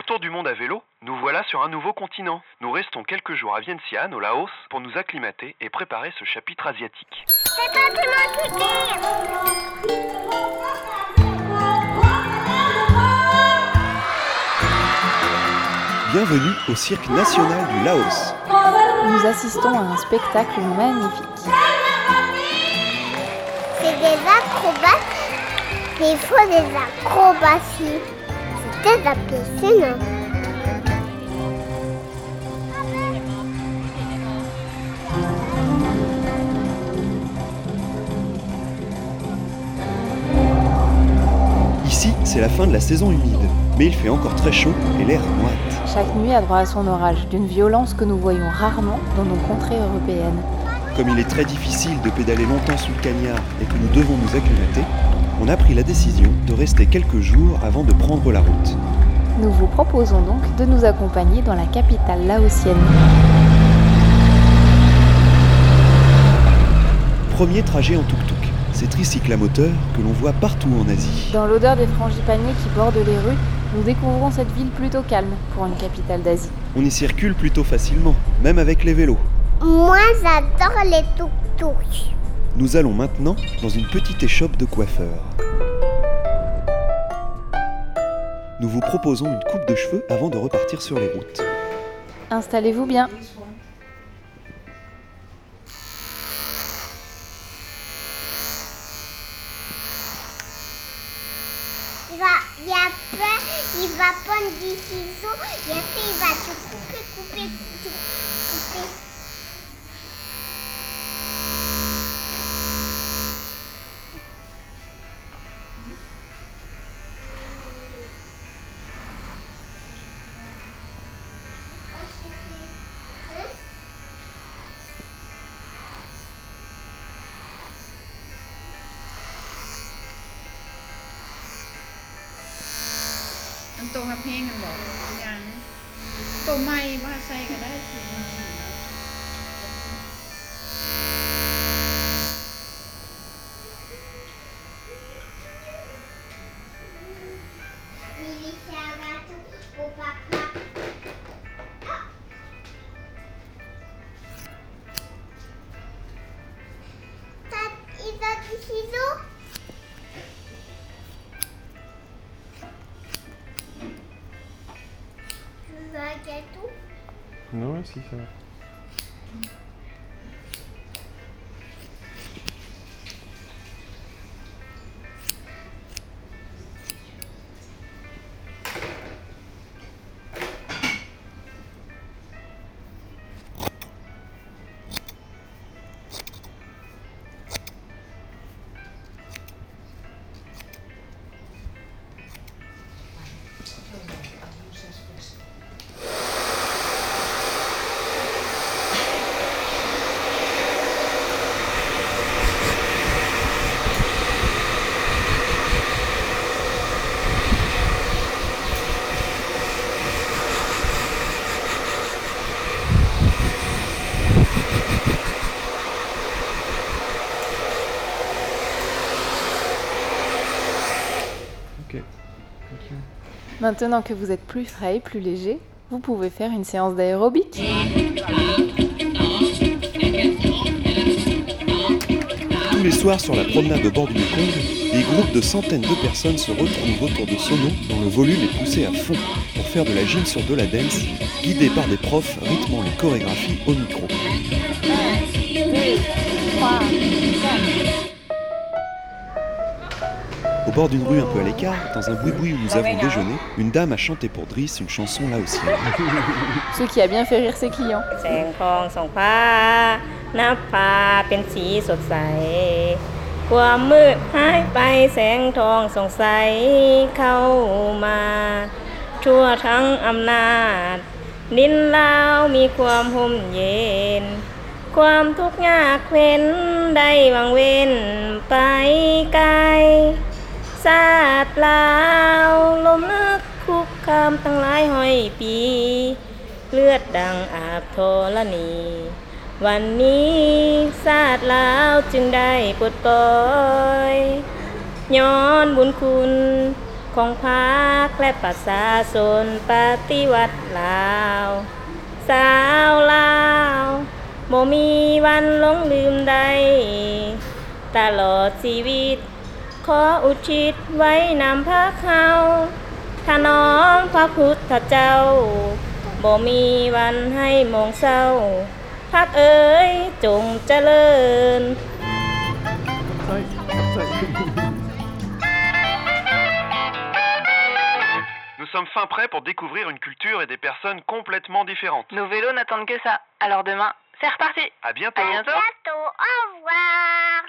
tour du monde à vélo, nous voilà sur un nouveau continent. Nous restons quelques jours à Vientiane, au Laos, pour nous acclimater et préparer ce chapitre asiatique. C'est toi qui m'as. Bienvenue au Cirque National du Laos. Nous assistons à un spectacle magnifique. C'est des acrobates. Il faut des acrobaties. C'est très impressionnant. Ici, c'est la fin de la saison humide, mais il fait encore très chaud et l'air moite. Chaque nuit a droit à son orage, d'une violence que nous voyons rarement dans nos contrées européennes. Comme il est très difficile de pédaler longtemps sous le cagnard et que nous devons nous acclimater, on a pris la décision de rester quelques jours avant de prendre la route. Nous vous proposons donc de nous accompagner dans la capitale laotienne. Premier trajet en tuk-tuk, ces tricycles à moteur que l'on voit partout en Asie. Dans l'odeur des frangipaniers qui bordent les rues, nous découvrons cette ville plutôt calme pour une capitale d'Asie. On y circule plutôt facilement, même avec les vélos. Moi, j'adore les tuk-tuks. Nous allons maintenant dans une petite échoppe de coiffeur. Nous vous proposons une coupe de cheveux avant de repartir sur les routes. Installez-vous bien. Il va prendre des ciseaux et après il va te couper. Anh tô hấp hen anh bỏยังtô mayว่าใส่ก็ได้สิ Il a des ciseaux. Tu veux un gâteau? Non, si, ça va. Maintenant que vous êtes plus frais et plus léger, vous pouvez faire une séance d'aérobic. Tous les soirs sur la promenade au bord du Mekong, des groupes de centaines de personnes se retrouvent autour de Sono dont le volume est poussé à fond pour faire de la gym sur de la dance, guidés par des profs rythmant les chorégraphies au micro. 1, 2, 3, 4. Au bord d'une rue un peu à l'écart, dans un boui-boui où nous avons déjeuné, une dame a chanté pour Driss une chanson laotienne. Ce qui a bien fait rire ses clients. แสงทองส่องฟ้านับฟ้าเป็นสีสดใสความมืดหายไปแสงทองส่องใสเข้ามาทั่วทั้งอำนาจดินลาวมีความห่มเย็นความทุกข์ยากเว้นได้วางเว้นไปไกลชาติลาวลมลึกคุกคามตั้งหลายห้อยปีเลือดดังอาบธรณี วันนี้ชาติลาวจึงได้ปลดปล่อยย้อนบุญคุณขของพรรคและประชาชนปฏิวัติลาวสาวลาวบ่มีวันหลงลืมใดตลอดชีวิตขออุทิศไว้นำพรรคเฮาถนอมพระพุทธเจ้าบ่มีวันให้มองเศร้าพรรคเอ๋ยจงเจริญ Nous sommes fin prêts pour découvrir une culture et des personnes complètement différentes. Nos vélos n'attendent que ça. Alors demain, c'est reparti. À bientôt. À bientôt. Bientôt, au revoir.